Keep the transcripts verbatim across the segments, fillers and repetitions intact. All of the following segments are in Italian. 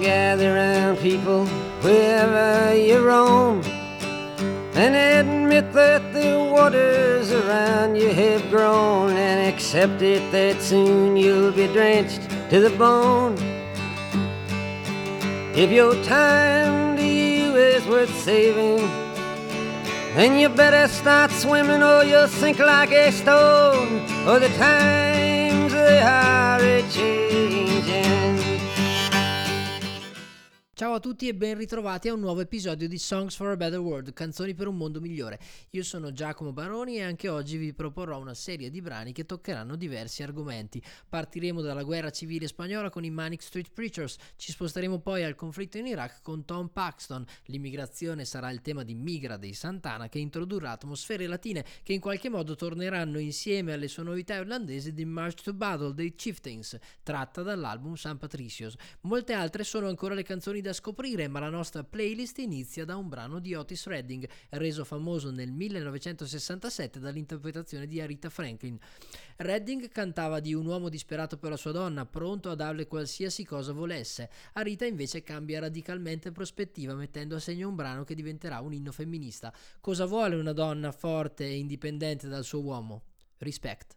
gather round people wherever you roam, and admit that the waters around you have grown, and accept it that soon you'll be drenched to the bone. If your time to you is worth saving, then you better start swimming or you'll sink like a stone, or the times they are a-changing. Ciao a tutti e ben ritrovati a un nuovo episodio di Songs for a Better World, canzoni per un mondo migliore. Io sono Giacomo Baroni e anche oggi vi proporrò una serie di brani che toccheranno diversi argomenti. Partiremo dalla guerra civile spagnola con i Manic Street Preachers, ci sposteremo poi al conflitto in Iraq con Tom Paxton, l'immigrazione sarà il tema di Migra dei Santana che introdurrà atmosfere latine che in qualche modo torneranno insieme alle sonorità irlandesi di March to Battle dei Chieftains, tratta dall'album San Patricios. Molte altre sono ancora le canzoni da scoprire, ma la nostra playlist inizia da un brano di Otis Redding, reso famoso nel millenovecentosessantasette dall'interpretazione di Aretha Franklin. Redding cantava di un uomo disperato per la sua donna, pronto a darle qualsiasi cosa volesse. Aretha invece cambia radicalmente prospettiva, mettendo a segno un brano che diventerà un inno femminista. Cosa vuole una donna forte e indipendente dal suo uomo? Respect.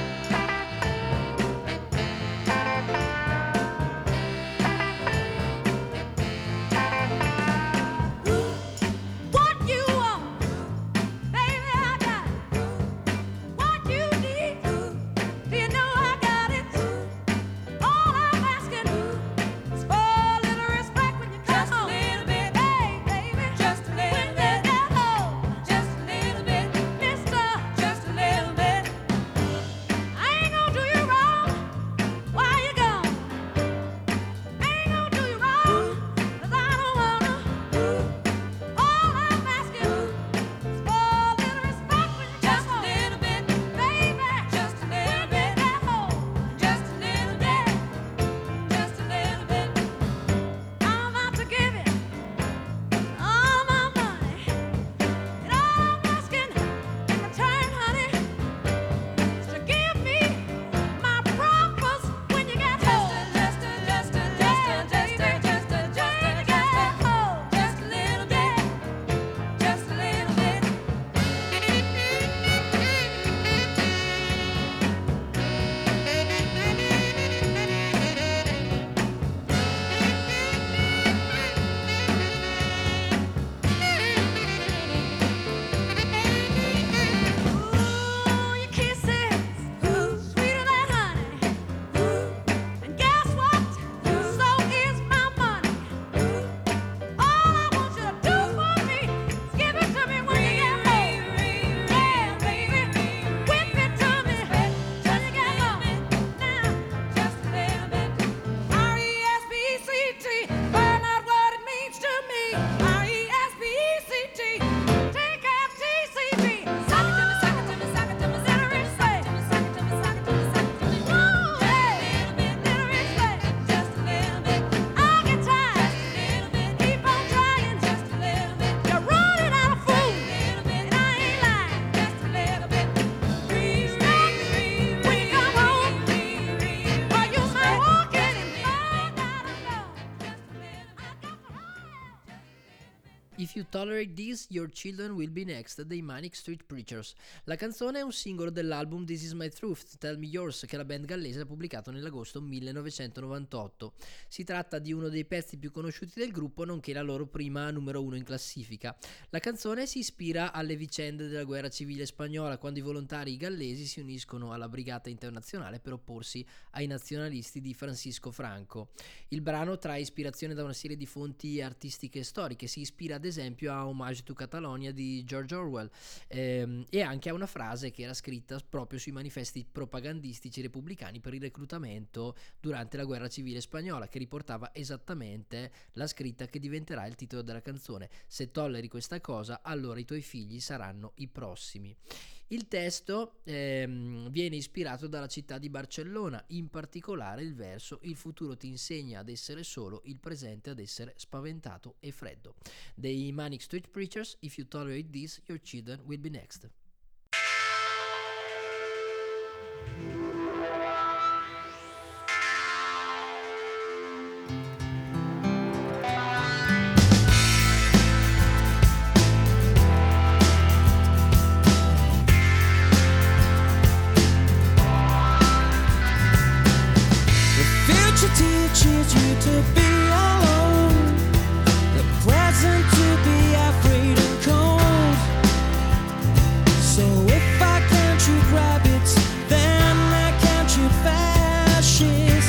If You Tolerate This, Your Children Will Be Next dei Manic Street Preachers. La canzone è un singolo dell'album This Is My Truth, Tell Me Yours, che la band gallese ha pubblicato nell'agosto millenovecentonovantotto. Si tratta di uno dei pezzi più conosciuti del gruppo, nonché la loro prima numero uno in classifica. La canzone si ispira alle vicende della guerra civile spagnola, quando i volontari gallesi si uniscono alla Brigata Internazionale per opporsi ai nazionalisti di Francisco Franco. Il brano trae ispirazione da una serie di fonti artistiche e storiche, si ispira ad esempio a Homage to Catalonia di George Orwell ehm, e anche a una frase che era scritta proprio sui manifesti propagandistici repubblicani per il reclutamento durante la guerra civile spagnola, che riportava esattamente la scritta che diventerà il titolo della canzone: se tolleri questa cosa, allora i tuoi figli saranno i prossimi. Il testo ehm, viene ispirato dalla città di Barcellona, in particolare il verso "il futuro ti insegna ad essere solo, il presente ad essere spaventato e freddo". Dei Manic Street Preachers, If You Tolerate This, Your Children Will Be Next. to be alone, the present to be afraid and cold. So if I can't shoot rabbits, then I can't shoot fascists.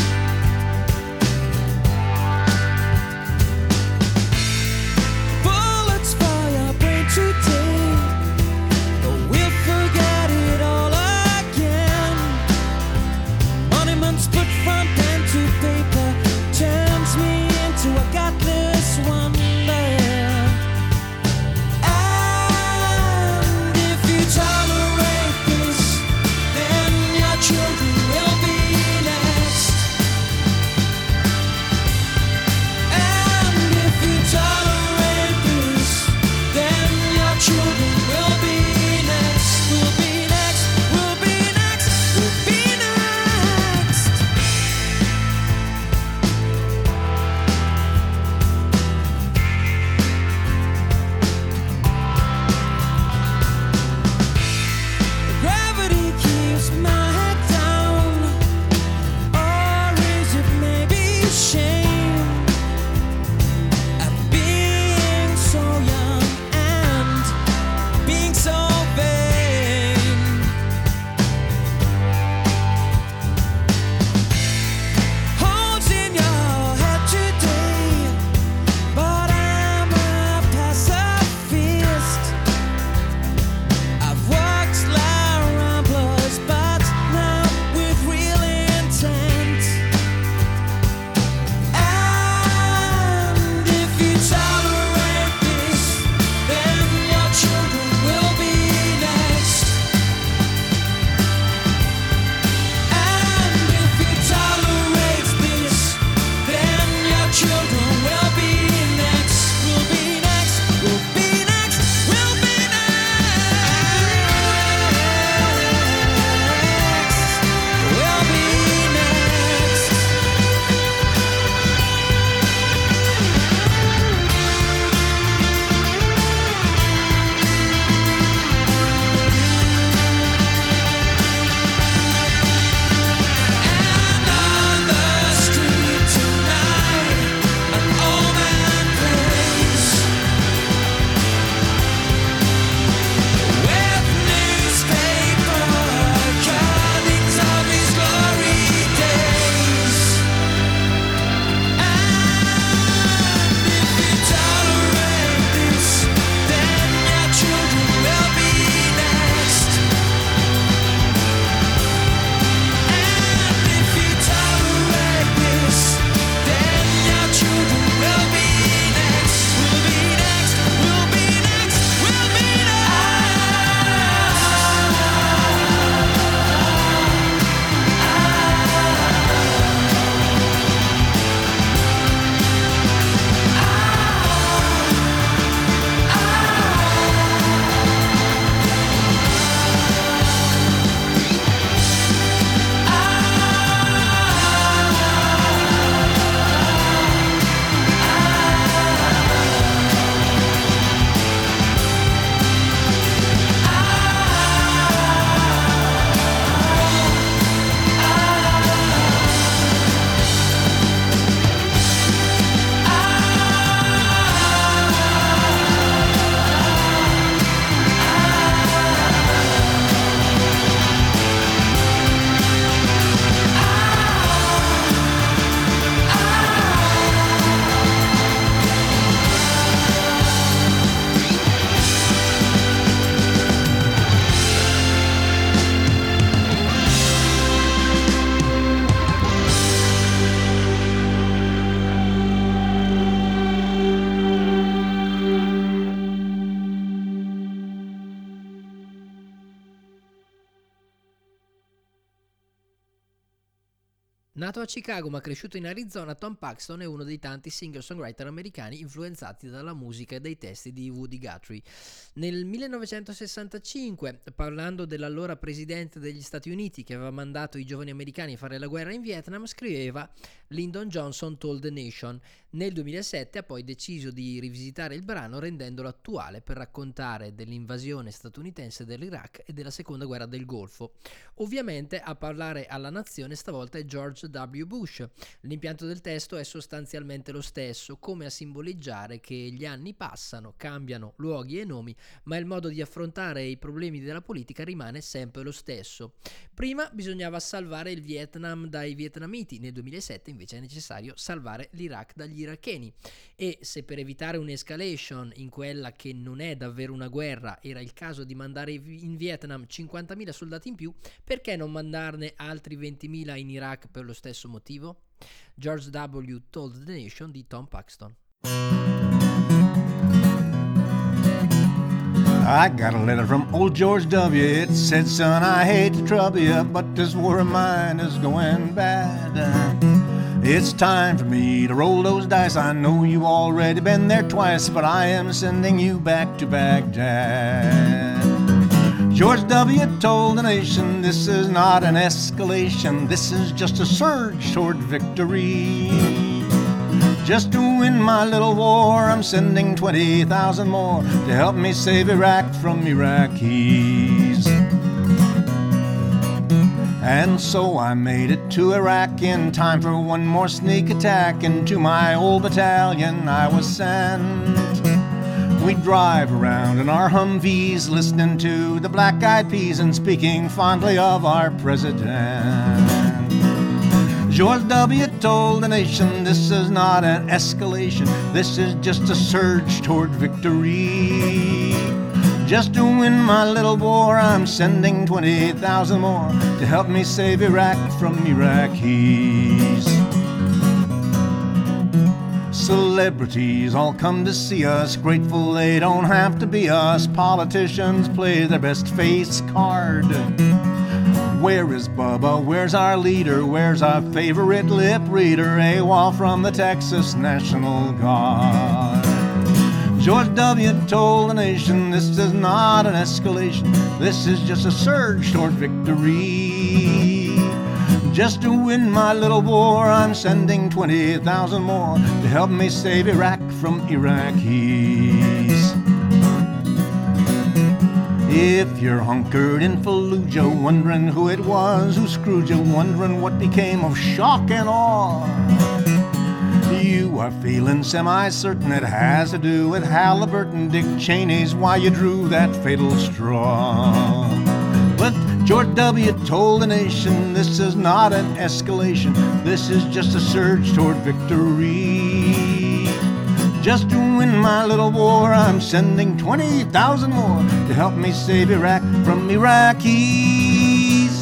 Bullets for your brain today, but we'll forget it all again. Monuments put from pen to paper turns me into a godless wonder. And if you tolerate this, then your children will be next. And if you tolerate this, then your children will be next. Will be next, will be next, will be next. Gravity keeps my head down, or is it maybe shame at being so young and being so vain? Holes in your head today, but I'm a pacifist. I've walked La Ramblas, but now with real intent. And if you tolerate this, then your children will be next. And if you tolerate this, then your children will be next. Will be next, will be next, will be next. Will be next. And on the street tonight, an old man plays with newspaper cuttings of his glory days. And if you tolerate this, then your children will be next. And if you tolerate this, then your children will be next. Will be next, will be next, will be Nato a Chicago ma cresciuto in Arizona, Tom Paxton è uno dei tanti singer-songwriter americani influenzati dalla musica e dai testi di Woody Guthrie. Nel millenovecentosessantacinque, parlando dell'allora presidente degli Stati Uniti che aveva mandato i giovani americani a fare la guerra in Vietnam, scriveva Lyndon Johnson Told the Nation. Nel duemilasette ha poi deciso di rivisitare il brano rendendolo attuale per raccontare dell'invasione statunitense dell'Iraq e della seconda guerra del Golfo. Ovviamente a parlare alla nazione stavolta è George W. Bush. L'impianto del testo è sostanzialmente lo stesso, come a simboleggiare che gli anni passano, cambiano luoghi e nomi, ma il modo di affrontare i problemi della politica rimane sempre lo stesso. Prima bisognava salvare il Vietnam dai vietnamiti, nel duemilasette invece è necessario salvare l'Iraq dagli iracheni. E se per evitare un'escalation in quella che non è davvero una guerra era il caso di mandare in Vietnam cinquantamila soldati in più, perché non mandarne altri ventimila in Iraq per lo stesso motivo? George W. Told the Nation di Tom Paxton. I got a letter from old George W. It said, son, I hate to trouble you, but this war of mine is going bad. It's time for me to roll those dice. I know you've already been there twice, but I am sending you back to Baghdad. George W. told the nation, this is not an escalation, this is just a surge toward victory. Just to win my little war, I'm sending twenty thousand more to help me save Iraq from Iraqis. And so I made it to Iraq in time for one more sneak attack. And to my old battalion I was sent. We drive around in our Humvees, listening to the Black Eyed Peas and speaking fondly of our president. George W. told the nation, this is not an escalation, this is just a surge toward victory. Just to win my little war, I'm sending twenty thousand more to help me save Iraq from Iraqis. Celebrities all come to see us, grateful they don't have to be us. Politicians play their best face card. Where is Bubba? Where's our leader? Where's our favorite lip reader? AWOL from the Texas National Guard. George W. told the nation, this is not an escalation, this is just a surge toward victory. Just to win my little war, I'm sending twenty thousand more to help me save Iraq from Iraqis. If you're hunkered in Fallujah, wondering who it was who screwed you, wondering what became of shock and awe, you are feeling semi-certain it has to do with Halliburton, Dick Cheney's why you drew that fatal straw. But George W. told the nation, this is not an escalation, this is just a surge toward victory. Just to win my little war, I'm sending twenty thousand more to help me save Iraq from Iraqis.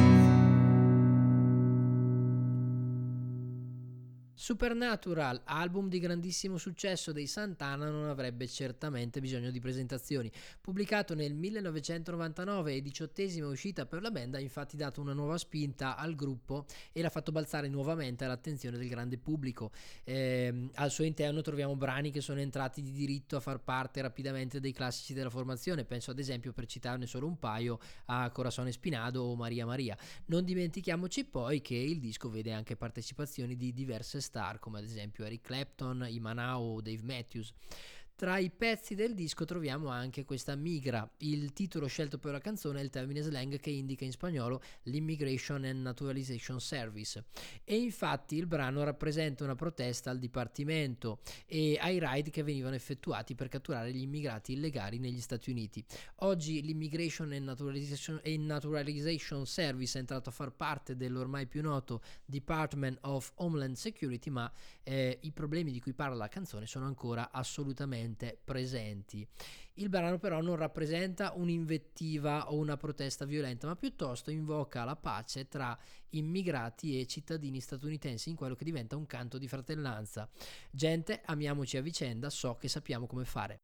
Supernatural, album di grandissimo successo dei Santana, non avrebbe certamente bisogno di presentazioni. Pubblicato nel millenovecentonovantanove e diciottesima uscita per la band, ha infatti dato una nuova spinta al gruppo e l'ha fatto balzare nuovamente all'attenzione del grande pubblico. Eh, al suo interno troviamo brani che sono entrati di diritto a far parte rapidamente dei classici della formazione. Penso ad esempio, per citarne solo un paio, a Corazón Espinado o Maria Maria. Non dimentichiamoci poi che il disco vede anche partecipazioni di diverse star, come ad esempio Eric Clapton, Imanao o Dave Matthews. Tra i pezzi del disco troviamo anche questa Migra. Il titolo scelto per la canzone è il termine slang che indica in spagnolo l'Immigration and Naturalization Service, e infatti il brano rappresenta una protesta al dipartimento e ai raid che venivano effettuati per catturare gli immigrati illegali negli Stati Uniti. Oggi l'Immigration and Naturalization, and Naturalization Service è entrato a far parte dell'ormai più noto Department of Homeland Security, ma eh, i problemi di cui parla la canzone sono ancora assolutamente presenti. Il brano però non rappresenta un'invettiva o una protesta violenta, ma piuttosto invoca la pace tra immigrati e cittadini statunitensi in quello che diventa un canto di fratellanza. Gente, amiamoci a vicenda, so che sappiamo come fare.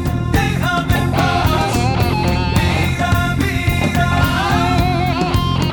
Mira, mira,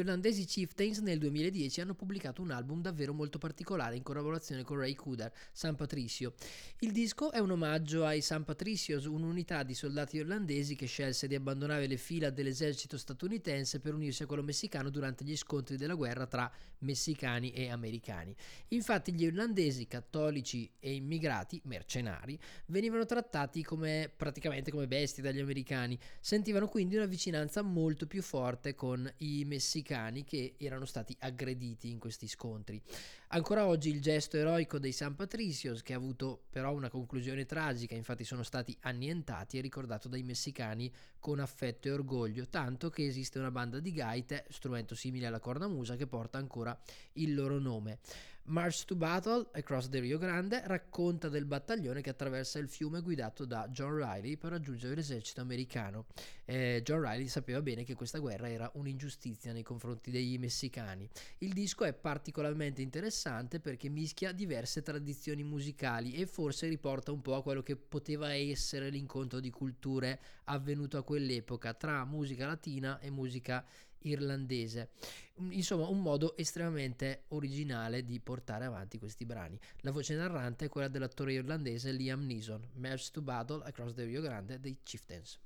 irlandesi Chieftains nel duemiladieci hanno pubblicato un album davvero molto particolare in collaborazione con Ray Cooder, San Patricio. Il disco è un omaggio ai San Patricios, un'unità di soldati irlandesi che scelse di abbandonare le fila dell'esercito statunitense per unirsi a quello messicano durante gli scontri della guerra tra messicani e americani. Infatti gli irlandesi, cattolici e immigrati, mercenari, venivano trattati come praticamente come bestie dagli americani, sentivano quindi una vicinanza molto più forte con i messicani che erano stati aggrediti in questi scontri. Ancora oggi il gesto eroico dei San Patricios, che ha avuto però una conclusione tragica, infatti sono stati annientati, è ricordato dai messicani con affetto e orgoglio, tanto che esiste una banda di gaite, strumento simile alla cornamusa, che porta ancora il loro nome. March to Battle Across the Rio Grande racconta del battaglione che attraversa il fiume guidato da John Riley per raggiungere l'esercito americano. Eh, John Riley sapeva bene che questa guerra era un'ingiustizia nei confronti dei messicani. Il disco è particolarmente interessante perché mischia diverse tradizioni musicali e forse riporta un po' a quello che poteva essere l'incontro di culture avvenuto a quell'epoca tra musica latina e musica irlandese. Insomma, un modo estremamente originale di portare avanti questi brani. La voce narrante è quella dell'attore irlandese Liam Neeson. March to Battle Across the Rio Grande dei Chieftains.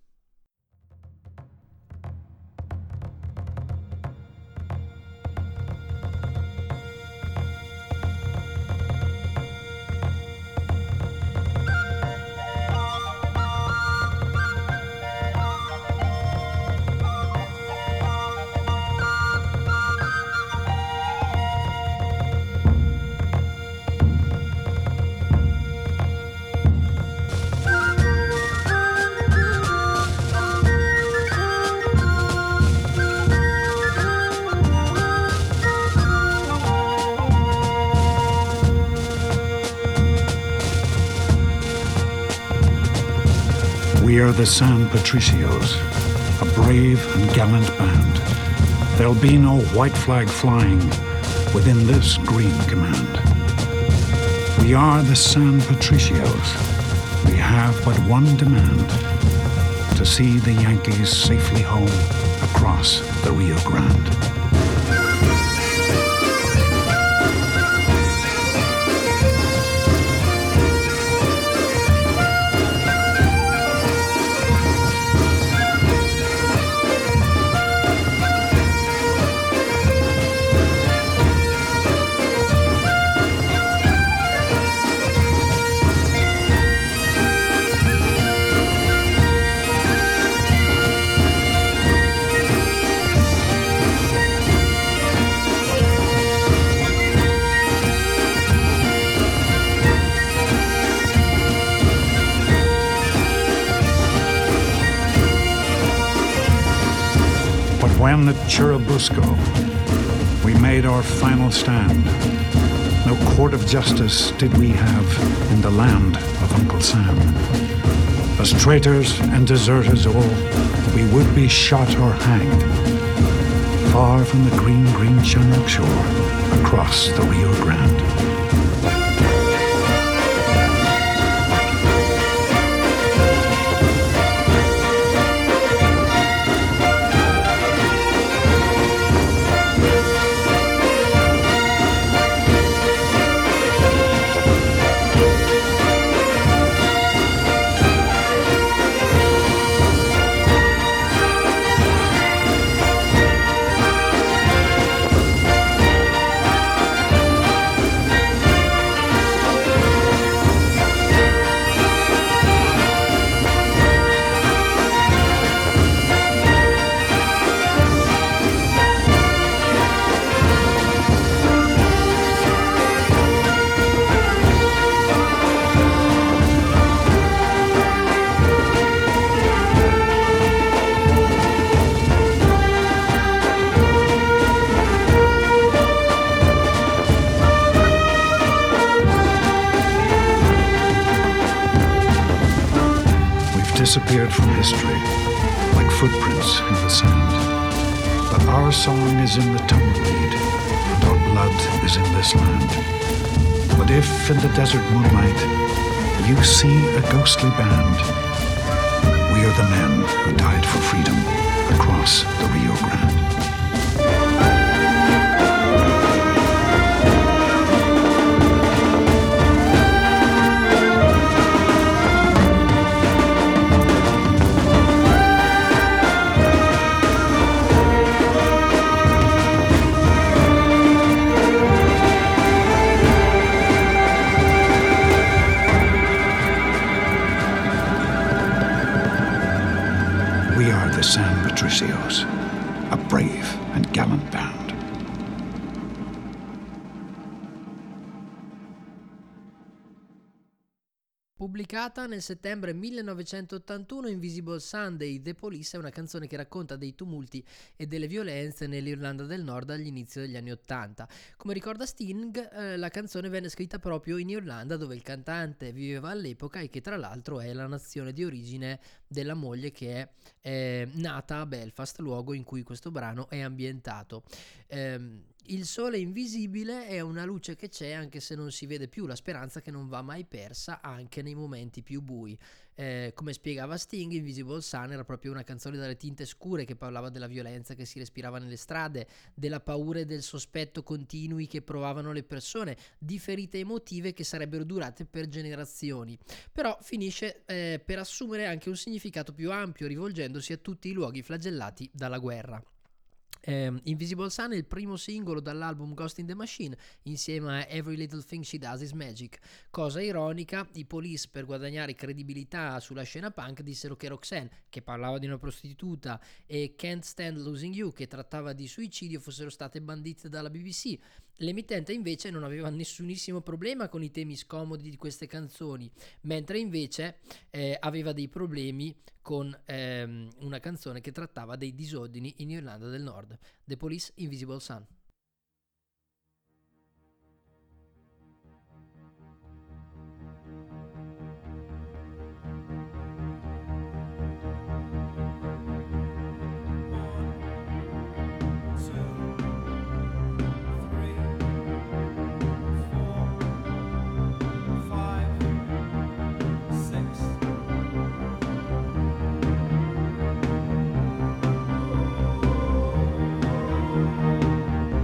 We are the San Patricios, a brave and gallant band. There'll be no white flag flying within this green command. We are the San Patricios. We have but one demand: to see the Yankees safely home across the Rio Grande. When at Churubusco we made our final stand, no court of justice did we have in the land of Uncle Sam. As traitors and deserters all, we would be shot or hanged, far from the green, green Shamrock shore, across the Rio Grande. Disappeared from history like footprints in the sand. But our song is in the tumbleweed, and our blood is in this land. But if in the desert moonlight you see a ghostly band, we are the men who died for freedom across the Rio Grande. the San Patricios, a brave and gallant band. Pubblicata nel settembre millenovecentottantuno, Invisible Sunday, The Police è una canzone che racconta dei tumulti e delle violenze nell'Irlanda del Nord all'inizio degli anni Ottanta. Come ricorda Sting, eh, la canzone venne scritta proprio in Irlanda, dove il cantante viveva all'epoca e che tra l'altro è la nazione di origine della moglie, che è eh, nata a Belfast, luogo in cui questo brano è ambientato. Ehm, Il sole invisibile è una luce che c'è anche se non si vede più, la speranza che non va mai persa anche nei momenti più bui. Eh, come spiegava Sting, Invisible Sun era proprio una canzone dalle tinte scure che parlava della violenza che si respirava nelle strade, della paura e del sospetto continui che provavano le persone, di ferite emotive che sarebbero durate per generazioni. Però finisce eh, per assumere anche un significato più ampio, rivolgendosi a tutti i luoghi flagellati dalla guerra. Um, Invisible Sun è il primo singolo dall'album Ghost in the Machine, insieme a Every Little Thing She Does Is Magic. Cosa ironica, i Police, per guadagnare credibilità sulla scena punk, dissero che Roxanne, che parlava di una prostituta, e Can't Stand Losing You, che trattava di suicidio, fossero state bandite dalla B B C. L'emittente invece non aveva nessunissimo problema con i temi scomodi di queste canzoni, mentre invece eh, aveva dei problemi con ehm, una canzone che trattava dei disordini in Irlanda del Nord. The Police, Invisible Sun. Thank you.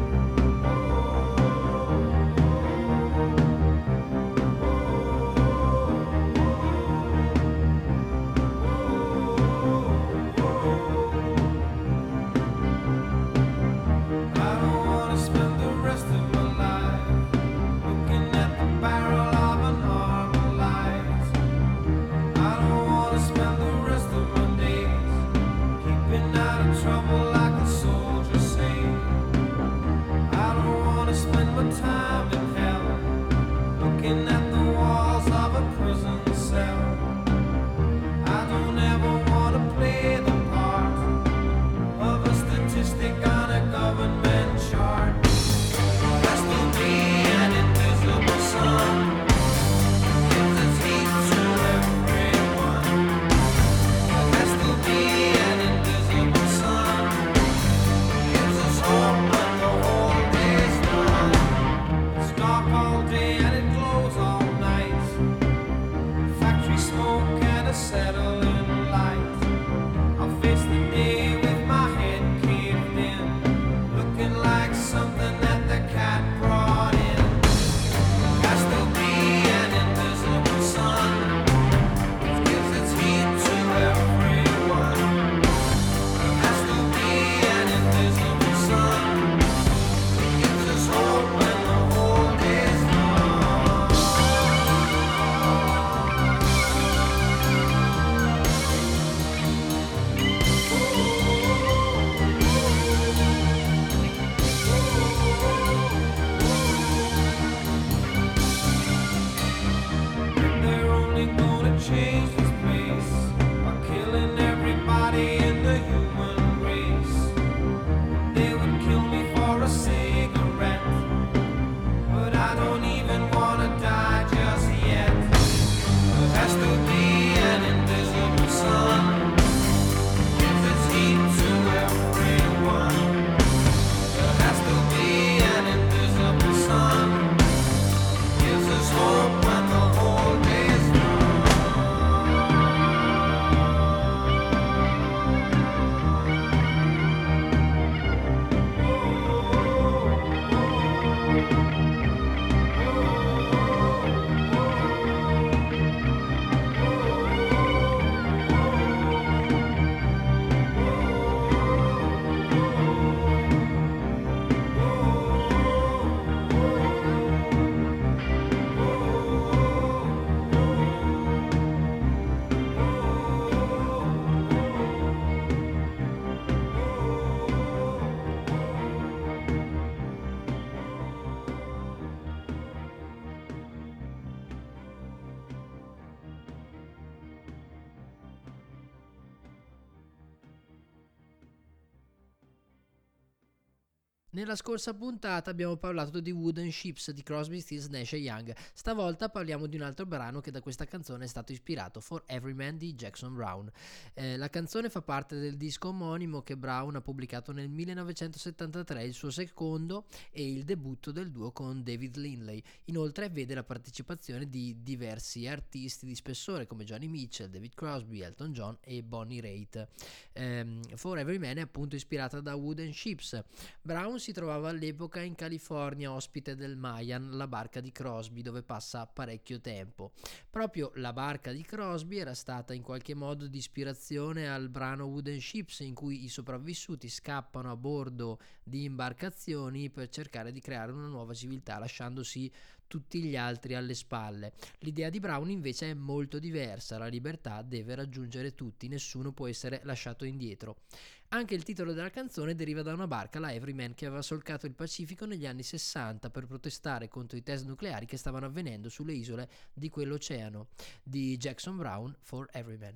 Nella scorsa puntata abbiamo parlato di Wooden Ships di Crosby, Stills, Nash and Young. Stavolta parliamo di un altro brano che da questa canzone è stato ispirato, For Every Man di Jackson Browne. Eh, la canzone fa parte del disco omonimo che Browne ha pubblicato nel millenovecentosettantatré, il suo secondo e il debutto del duo con David Lindley. Inoltre vede la partecipazione di diversi artisti di spessore come Johnny Mitchell, David Crosby, Elton John e Bonnie Raitt. Eh, For Every Man è appunto ispirata da Wooden Ships. Browne si trovava all'epoca in California, ospite del Mayan, la barca di Crosby, dove passa parecchio tempo. Proprio la barca di Crosby era stata in qualche modo di ispirazione al brano Wooden Ships, in cui i sopravvissuti scappano a bordo di imbarcazioni per cercare di creare una nuova civiltà, lasciandosi tutti gli altri alle spalle. L'idea di Browne invece è molto diversa: la libertà deve raggiungere tutti, nessuno può essere lasciato indietro. Anche il titolo della canzone deriva da una barca, la Everyman, che aveva solcato il Pacifico negli anni sessanta per protestare contro i test nucleari che stavano avvenendo sulle isole di quell'oceano. Di Jackson Browne, For Everyman.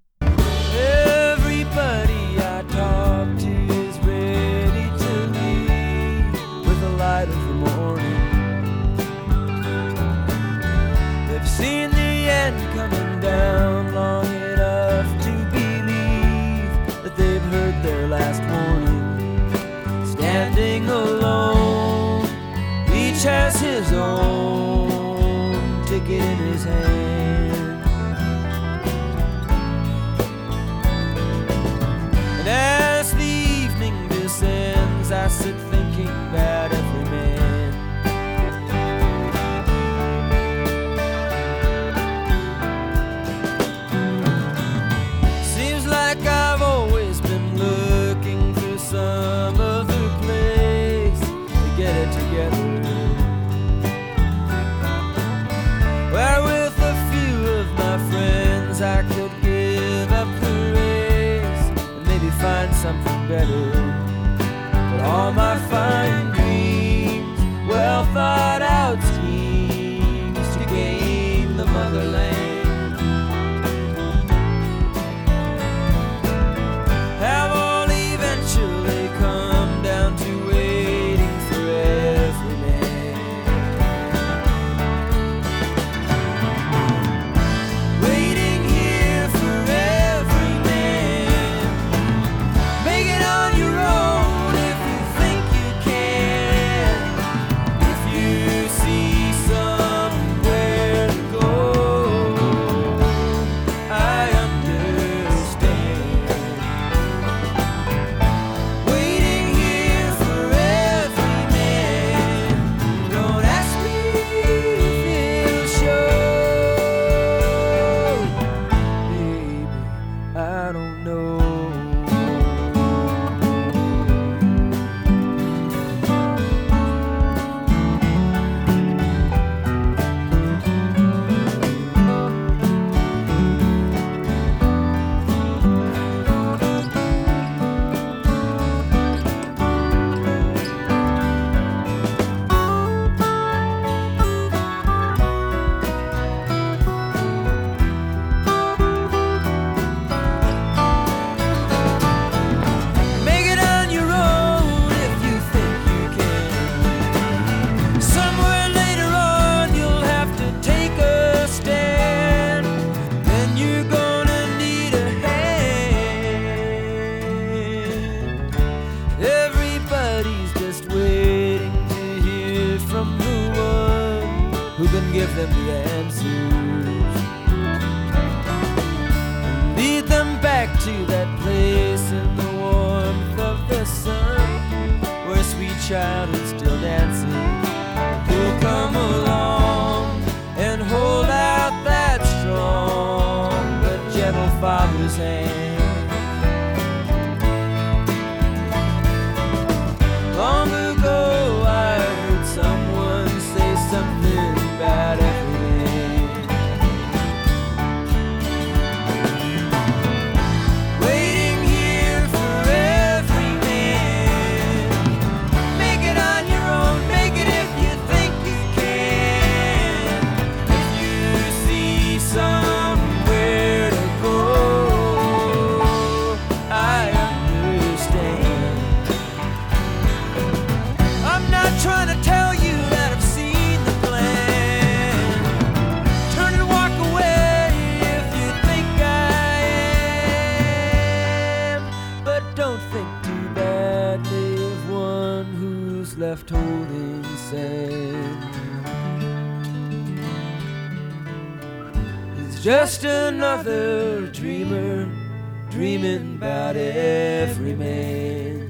Everybody I talk to is ready to leave with the light of the morning. They've seen the end coming down long enough to believe that they've heard their last warning. Standing alone, each has his own ticket in his hand. And as the evening descends, I sit thinking about every man. Seems like I've always been looking for some other place to get it together, where with a few of my friends I could give up the race and maybe find something better. But all my fine dreams, well thought out schemes to gain the motherland have all eventually come down to waiting for every man. Waiting here for every man. Make it on your own if you think you can. If you see somewhere to go, I understand. Waiting here for every man. Don't ask me if it'll show. Baby, I don't know. Make it on your own if you think you can. Somewhere later on you'll have to take a stand. Then you're gonna need a hand. Everybody's just waiting to hear from the one who can give them the answers, lead them back to that place in the warmth of the sun where sweet child is still dancing. Who'll come along and hold out that strong but gentle father's hand. Long ago I heard someone say something about every man. Waiting here for every man. Make it on your own, make it if you think you can. If you see somewhere to go, left holding sand. He's just another dreamer, dreaming about every man.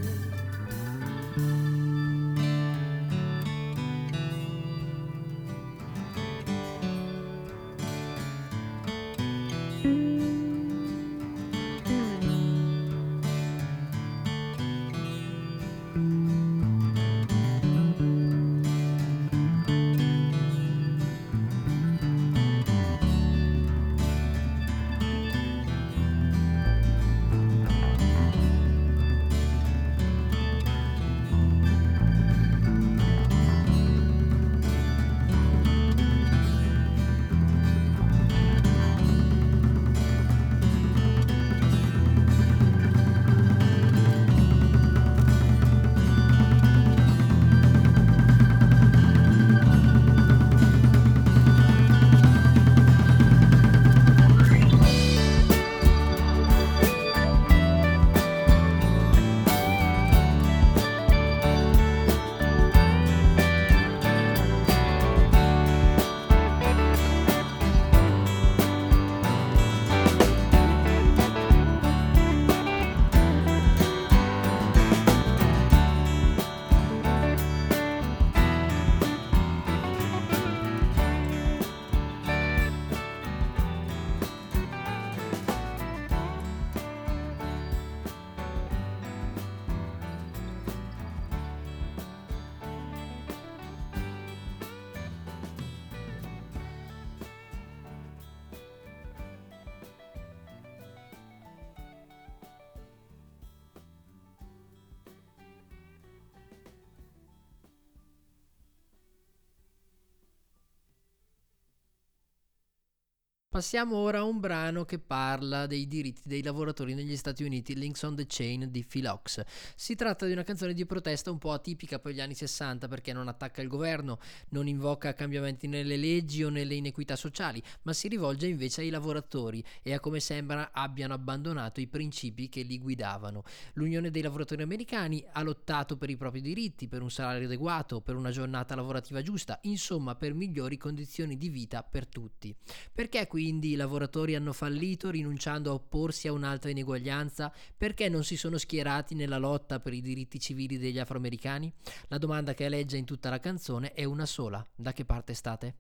Passiamo ora a un brano che parla dei diritti dei lavoratori negli Stati Uniti, Links on the Chain di Phil Ochs. Si tratta di una canzone di protesta un po' atipica per gli anni sessanta, perché non attacca il governo, non invoca cambiamenti nelle leggi o nelle inequità sociali, ma si rivolge invece ai lavoratori e a come sembra abbiano abbandonato i principi che li guidavano. L'Unione dei lavoratori americani ha lottato per i propri diritti, per un salario adeguato, per una giornata lavorativa giusta, insomma per migliori condizioni di vita per tutti. Perché quindi i lavoratori hanno fallito rinunciando a opporsi a un'altra ineguaglianza? Perché non si sono schierati nella lotta per i diritti civili degli afroamericani? La domanda che aleggia in tutta la canzone è una sola: da che parte state?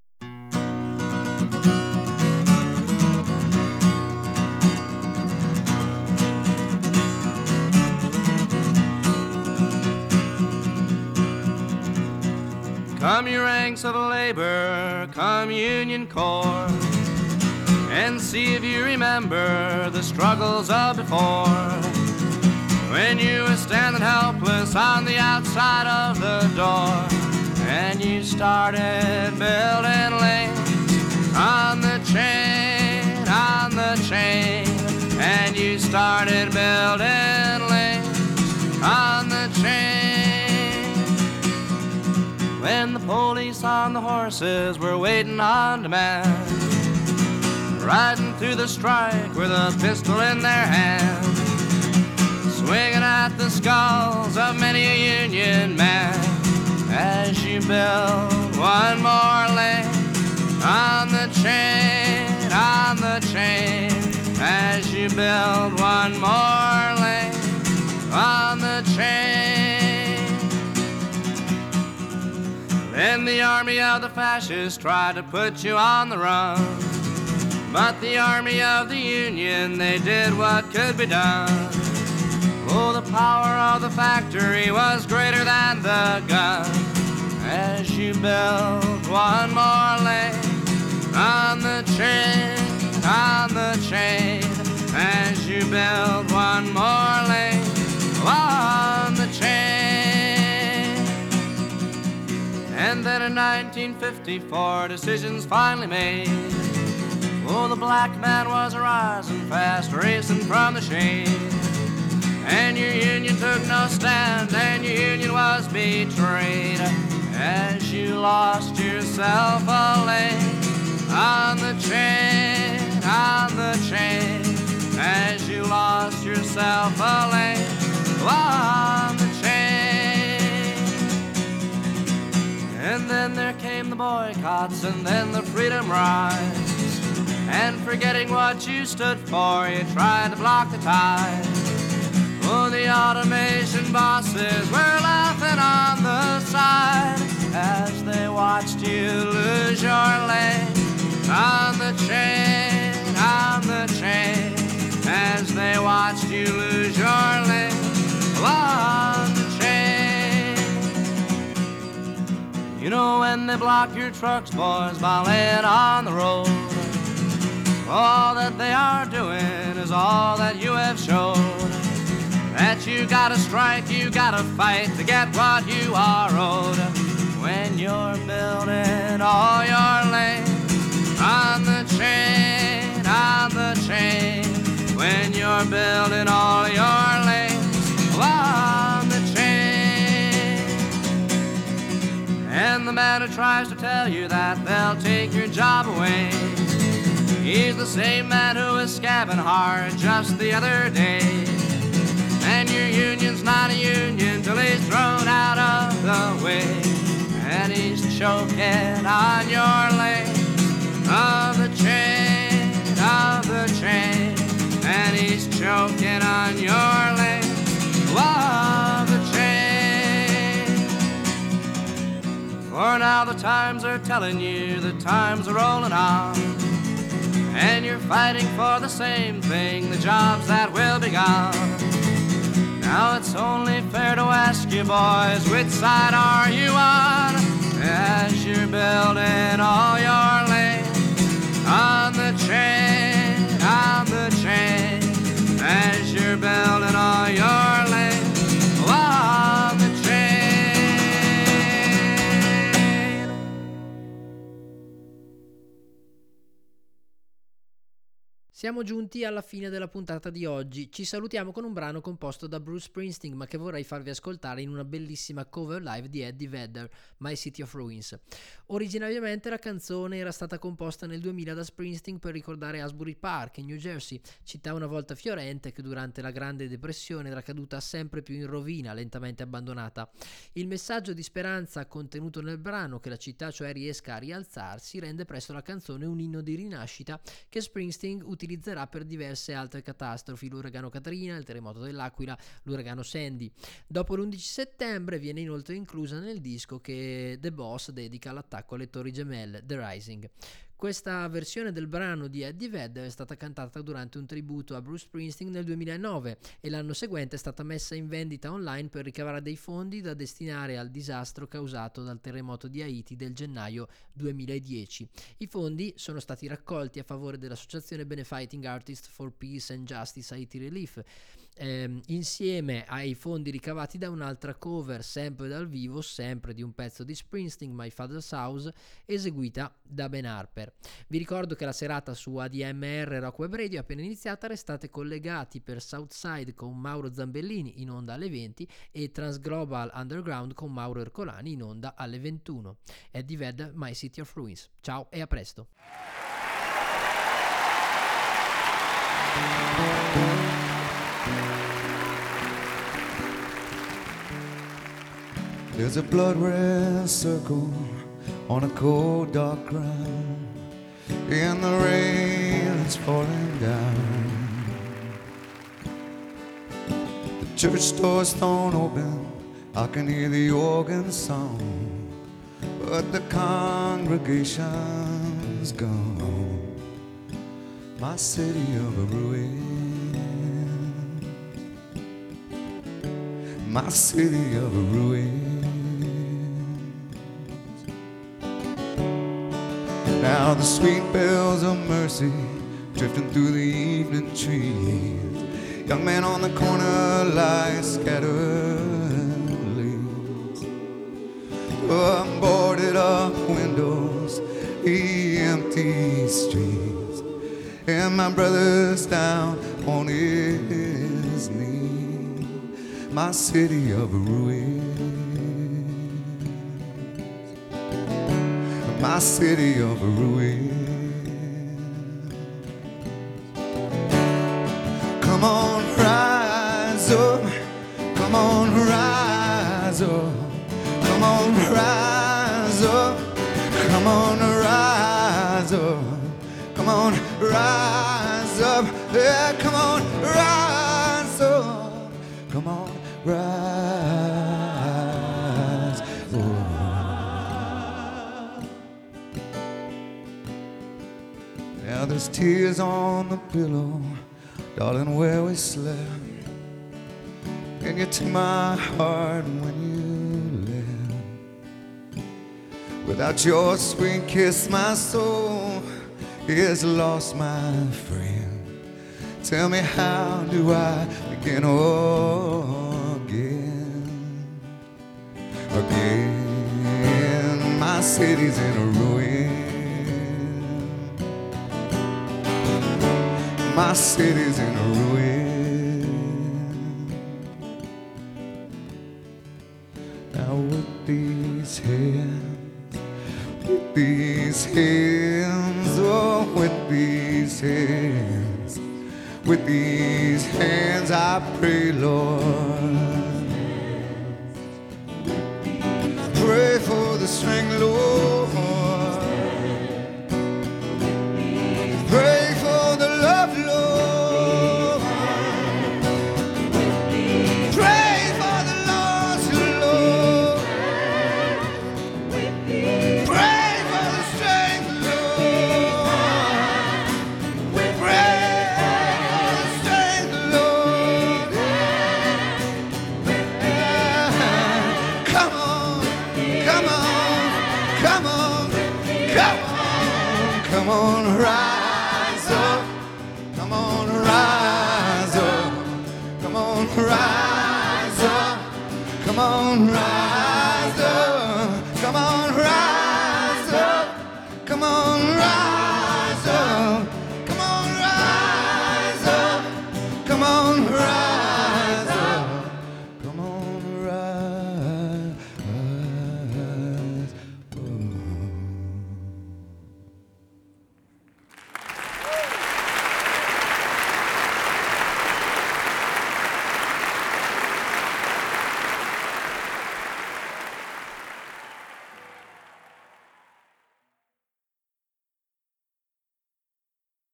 Come you ranks of labor, come Union Corps, and see if you remember the struggles of before, when you were standing helpless on the outside of the door, and you started building lanes on the chain, on the chain, and you started building lanes on the chain. When the police on the horses were waiting on demand, riding through the strike with a pistol in their hand, swinging at the skulls of many a Union man, as you build one more lane on the chain, on the chain, as you build one more lane on the chain. Then the army of the fascists tried to put you on the run, but the army of the Union, they did what could be done. Oh, the power of the factory was greater than the gun, as you build one more lane on the chain, on the chain, as you build one more lane on the chain. And then in nineteen fifty-four, decisions finally made. Oh, the black man was rising fast, racing from the shade. And your union took no stand, and your union was betrayed, as you lost yourself a lane on the chain, on the chain, as you lost yourself a lane on the chain. boycotts and then the freedom rides. And forgetting what you stood for, you tried to block the tide. Oh, the automation bosses were laughing on the side as they watched you lose your lane on the train, on the train, as they watched you lose your lane on the train. You know when they block your trucks, boys, by laying on the road, all that they are doing is all that you have showed. That you gotta strike, you gotta fight to get what you are owed. When you're building all your lanes on the train, on the train. When you're building all your lanes on the train. And the man who tries to tell you that they'll take your job away, he's the same man who was scabbing hard just the other day. And your union's not a union till he's thrown out of the way. And he's choking on your lane of the train, of the train. And he's choking on your lane of the train. For now the times are telling you the times are rolling on, and you're fighting for the same thing, the jobs that will be gone. Now it's only fair to ask you boys, which side are you on? As you're building all your lanes on the train, on the train. As you're building all your lanes on the train. Siamo giunti alla fine della puntata di oggi. Ci salutiamo con un brano composto da Bruce Springsteen, ma che vorrei farvi ascoltare in una bellissima cover live di Eddie Vedder, My City of Ruins. Originariamente la canzone era stata composta nel duemila da Springsteen per ricordare Asbury Park in New Jersey, città una volta fiorente che durante la Grande Depressione era caduta sempre più in rovina, lentamente abbandonata. Il messaggio di speranza contenuto nel brano, che la città cioè riesca a rialzarsi, rende presto la canzone un inno di rinascita che Springsteen utilizza utilizzerà per diverse altre catastrofi, l'uragano Katrina, il terremoto dell'Aquila, l'uragano Sandy. Dopo l'undici settembre viene inoltre inclusa nel disco che The Boss dedica all'attacco alle Torri Gemelle, The Rising. Questa versione del brano di Eddie Vedder è stata cantata durante un tributo a Bruce Springsteen nel duemilanove e l'anno seguente è stata messa in vendita online per ricavare dei fondi da destinare al disastro causato dal terremoto di Haiti del gennaio duemiladieci. I fondi sono stati raccolti a favore dell'associazione Benefiting Artists for Peace and Justice Haiti Relief, ehm, insieme ai fondi ricavati da un'altra cover sempre dal vivo, sempre di un pezzo di Springsteen, My Father's House, eseguita da Ben Harper. Vi ricordo che la serata su A D M R Rock Web Radio è appena iniziata, restate collegati per Southside con Mauro Zambellini in onda alle venti e Transglobal Underground con Mauro Ercolani in onda alle ventuno. Eddie Vedder, My City of Ruins. Ciao e a presto. There's a blood red circle on a cold dark ground, and the rain is falling down. The church door's thrown open, I can hear the organ song, but the congregation's gone. My city of a ruin, my city of a ruin. Now the sweet bells of mercy drifting through the evening trees. Young man on the corner lies scattered leaves. Oh, boarded up windows, the empty streets, and my brother's down on his knee. My city of ruins, my city of ruins. Come on, rise up, come on, rise up, come on, rise up, come on, rise up. Yeah, come on, rise up. Come on, rise up. Now there's tears on the pillow, darling, where we slept. And you took my heart when you left. Without your sweet kiss, my soul is lost, my friend. Tell me, how do I begin again? Again, my city's in a ruin. My city's in a ruin. Now with these hands, with these hands, oh, with these hands, with these hands I pray, Lord. Pray for the strength, Lord. Pray for the love, Lord. Pray for the lost, Lord. Pray for the strength, Lord. Pray for the strength, Lord. Come on, come on, come on, come on, come on, rise up. Come on, rise up. Come on, rise up. Come on, rise up.